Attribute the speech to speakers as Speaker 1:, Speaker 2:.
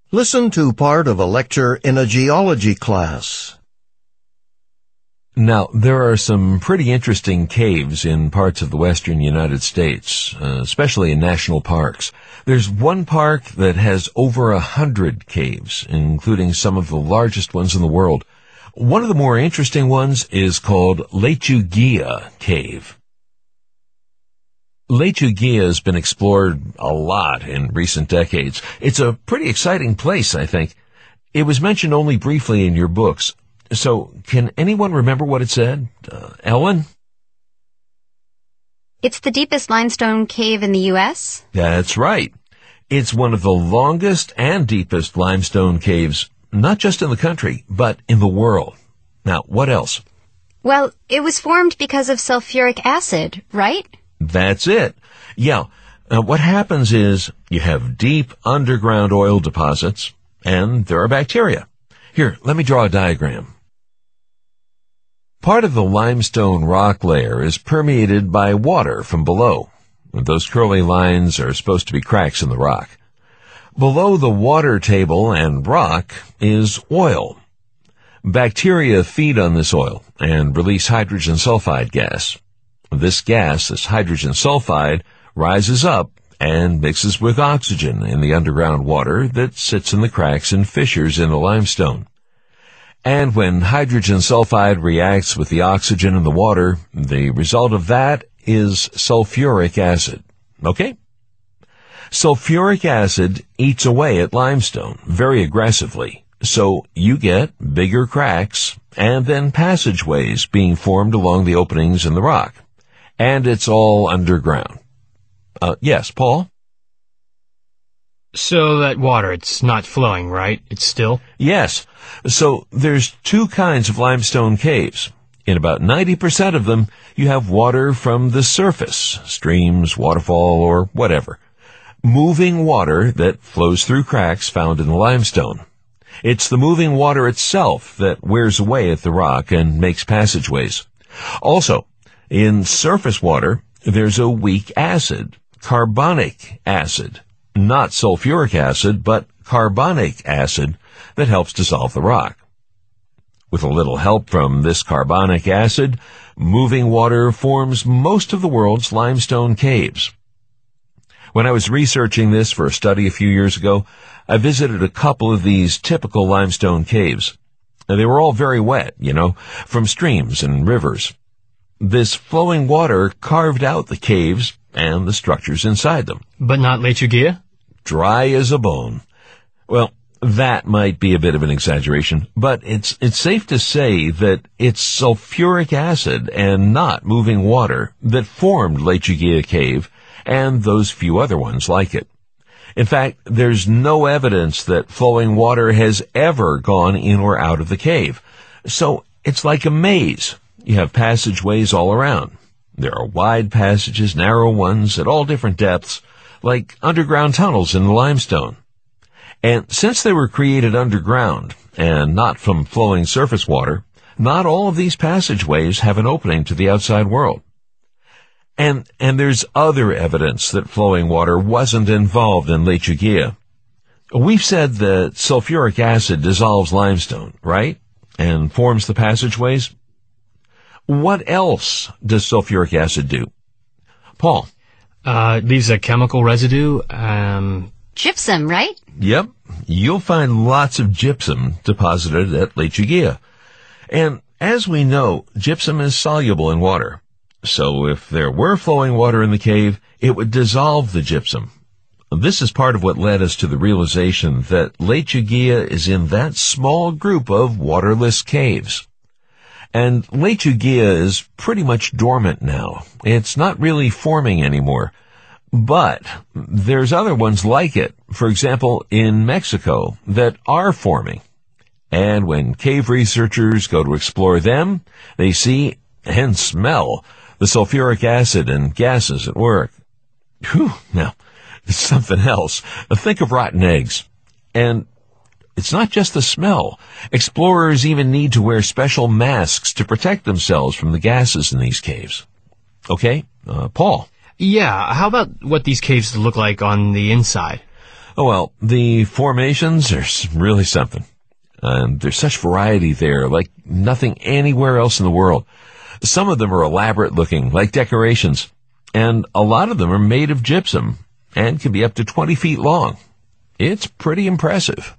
Speaker 1: Listen to part of a lecture in a geology class.
Speaker 2: Now, there are some pretty interesting caves in parts of the western United States, especially in national parks. There's one park that has over 100 caves, including some of the largest ones in the world. One of the more interesting ones is called Lechuguilla Cave. Lechuguilla has been explored a lot in recent decades. It's a pretty exciting place, I think. It was mentioned only briefly in your books. So, can anyone remember what it said? Ellen?
Speaker 3: It's the deepest limestone cave in the U.S.?
Speaker 2: That's right. It's one of the longest and deepest limestone caves, not just in the country, but in the world. Now, what else?
Speaker 3: Well, it was formed because of sulfuric acid, right?
Speaker 2: That's it. Yeah. What happens is you have deep underground oil deposits, and there are bacteria. Here, let me draw a diagram. Part of the limestone rock layer is permeated by water from below. Those curly lines are supposed to be cracks in the rock. Below the water table and rock is oil. Bacteria feed on this oil and release hydrogen sulfide gas. This gas, this hydrogen sulfide, rises up and mixes with oxygen in the underground water that sits in the cracks and fissures in the limestone. And when hydrogen sulfide reacts with the oxygen in the water, the result of that is sulfuric acid. Okay? Sulfuric acid eats away at limestone very aggressively, so you get bigger cracks and then passageways being formed along the openings in the rock. And it's all underground. Yes, Paul?
Speaker 4: So that water, it's not flowing, right? It's still?
Speaker 2: Yes. So there's two kinds of limestone caves. In about 90% of them, you have water from the surface, streams, waterfall, or whatever. Moving water that flows through cracks found in the limestone. It's the moving water itself that wears away at the rock and makes passageways. Also, in surface water, there's a weak acid, carbonic acid. Not sulfuric acid, but carbonic acid that helps dissolve the rock. With a little help from this carbonic acid, moving water forms most of the world's limestone caves. When I was researching this for a study a few years ago, I visited a couple of these typical limestone caves. They were all very wet, from streams and rivers. This flowing water carved out the caves and the structures inside them.
Speaker 4: But not Lechuguilla?
Speaker 2: Dry as a bone. Well, that might be a bit of an exaggeration, but it's safe to say that it's sulfuric acid and not moving water that formed Lechuguilla Cave and those few other ones like it. In fact, there's no evidence that flowing water has ever gone in or out of the cave. So it's like a maze. You have passageways all around. There are wide passages, narrow ones at all different depths, like underground tunnels in the limestone. And since they were created underground and not from flowing surface water, not all of these passageways have an opening to the outside world. And there's other evidence that flowing water wasn't involved in Lechuguilla. We've said that sulfuric acid dissolves limestone, right? And forms the passageways. What else does sulfuric acid do? Paul?
Speaker 4: It leaves a chemical residue,
Speaker 3: Gypsum, right?
Speaker 2: Yep. You'll find lots of gypsum deposited at Lechuguilla. And as we know, gypsum is soluble in water. So if there were flowing water in the cave, it would dissolve the gypsum. This is part of what led us to the realization that Lechuguilla is in that small group of waterless caves. And Lechuguilla is pretty much dormant now. It's not really forming anymore. But there's other ones like it, for example, in Mexico, that are forming. And when cave researchers go to explore them, they see and smell the sulfuric acid and gases at work. Whew, now, it's something else. Think of rotten eggs. And it's not just the smell. Explorers even need to wear special masks to protect themselves from the gases in these caves. Okay, Paul?
Speaker 4: Yeah, how about what these caves look like on the inside?
Speaker 2: Oh, well, the formations are really something. There's such variety there, like nothing anywhere else in the world. Some of them are elaborate looking, like decorations, and a lot of them are made of gypsum and can be up to 20 feet long. It's pretty impressive.